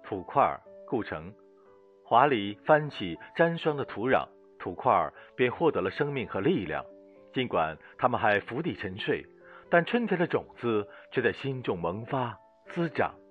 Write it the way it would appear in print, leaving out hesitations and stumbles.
土块构成，华丽翻起沾霜的土壤，土块便获得了生命和力量。尽管它们还伏地沉睡，但春天的种子却在心中萌发滋长。